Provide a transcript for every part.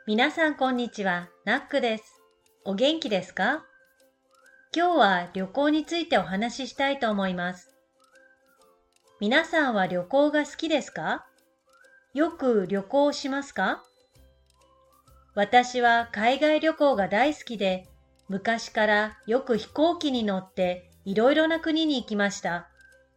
皆さんこんにちは、ナックです。お元気ですか？今日は旅行についてお話ししたいと思います。皆さんは旅行が好きですか？よく旅行しますか？私は海外旅行が大好きで、昔からよく飛行機に乗っていろいろな国に行きました。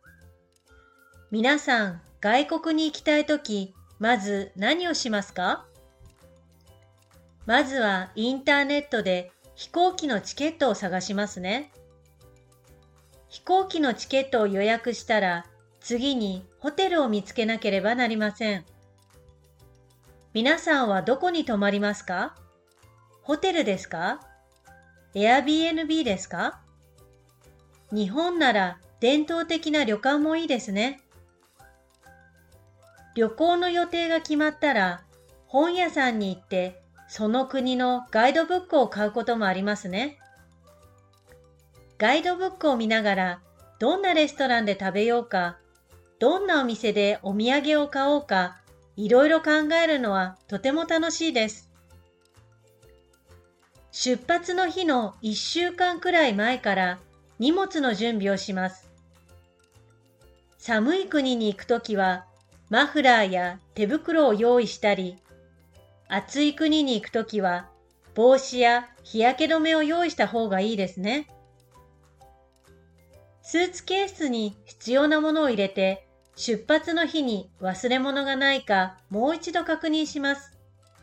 皆さん、外国に行きたいとき、まず何をしますか？まずはインターネットで飛行機のチケットを探しますね。飛行機のチケットを予約したら、次にホテルを見つけなければなりません。皆さんはどこに泊まりますか？ホテルですか？Airbnb ですか？日本なら伝統的な旅館もいいですね。旅行の予定が決まったら、本屋さんに行ってその国のガイドブックを買うこともありますね。ガイドブックを見ながら、どんなレストランで食べようか、どんなお店でお土産を買おうか、いろいろ考えるのはとても楽しいです。出発の日の1週間くらい前から荷物の準備をします。寒い国に行くときは、マフラーや手袋を用意したり、暑い国に行くときは、帽子や日焼け止めを用意した方がいいですね。スーツケースに必要なものを入れて、出発の日に忘れ物がないかもう一度確認します。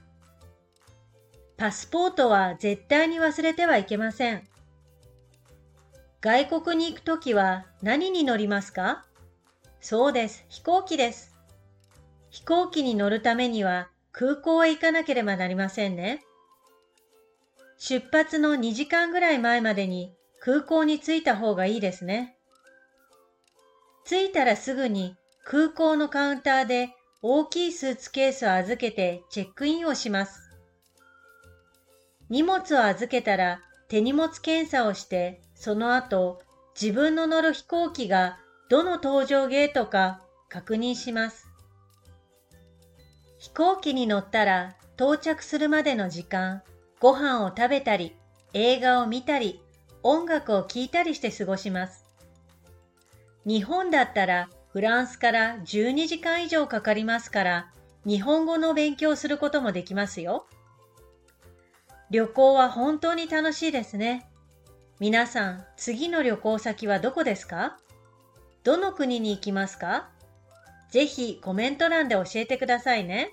パスポートは絶対に忘れてはいけません。外国に行くときは何に乗りますか？そうです、飛行機です。飛行機に乗るためには空港へ行かなければなりませんね。出発の2時間ぐらい前までに空港に着いた方がいいですね。着いたらすぐに空港のカウンターで大きいスーツケースを預けてチェックインをします。荷物を預けたら手荷物検査をして、その後自分の乗る飛行機がどの搭乗ゲートか確認します。飛行機に乗ったら到着するまでの時間、ご飯を食べたり、映画を見たり、音楽を聴いたりして過ごします。日本だったらフランスから12時間以上かかりますから、日本語の勉強をすることもできますよ。旅行は本当に楽しいですね。皆さん、次の旅行先はどこですか？どの国に行きますか？ぜひコメント欄で教えてくださいね。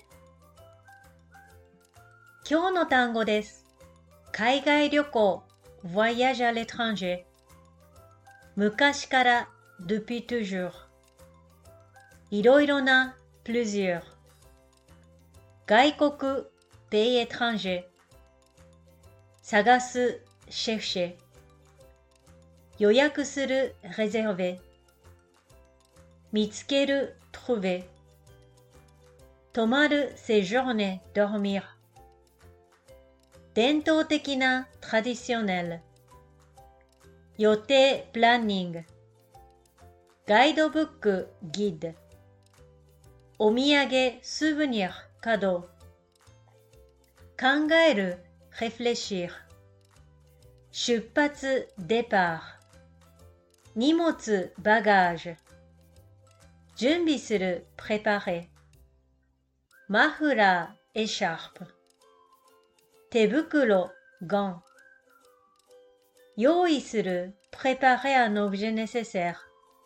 今日の単語です。海外旅行、voyage à l'étranger。昔から、depuis toujours。いろいろな、plusieurs。外国、pays étranger。探す、chercher。予約する、réserver。見つける、trouver。泊まる、séjourner, dormir。伝統的な、traditionnel。予定、planning。ガイドブック、guide。お土産、souvenir、cadeau。考える、réfléchir。出発、départ。荷物、bagage。準備する、préparer。マフラー、écharpe。手袋、gants。用意する、préparer un objet nécessaire。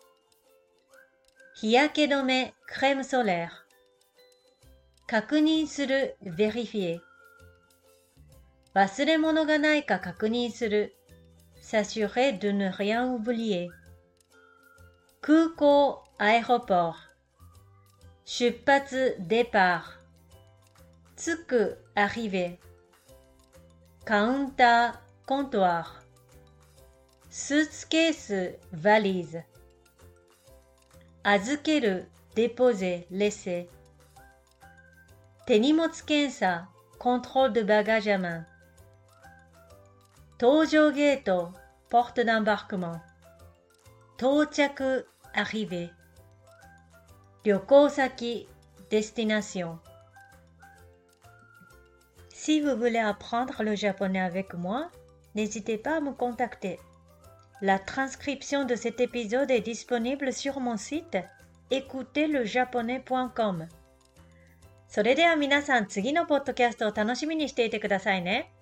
日焼け止め、crème solaire。確認する、vérifier。忘れ物がないか確認する、s'assurer de ne rien oublier。空港、aéroport。出発、départ。着く、arriver。カウンター、コントワー。スーツケース、valise。預ける、déposer, laisser。手荷物検査、contrôle de bagages à main。搭乗ゲート、porte d'embarquement。到着、arriver。旅行先、destination。 Si vous voulez apprendre le japonais avec moi, n'hésitez pas à me contacter. La transcription de cet épisode est disponible sur mon site écoutezlejaponais.com。それでは皆さん、次のポッドキャストを楽しみにしていてくださいね。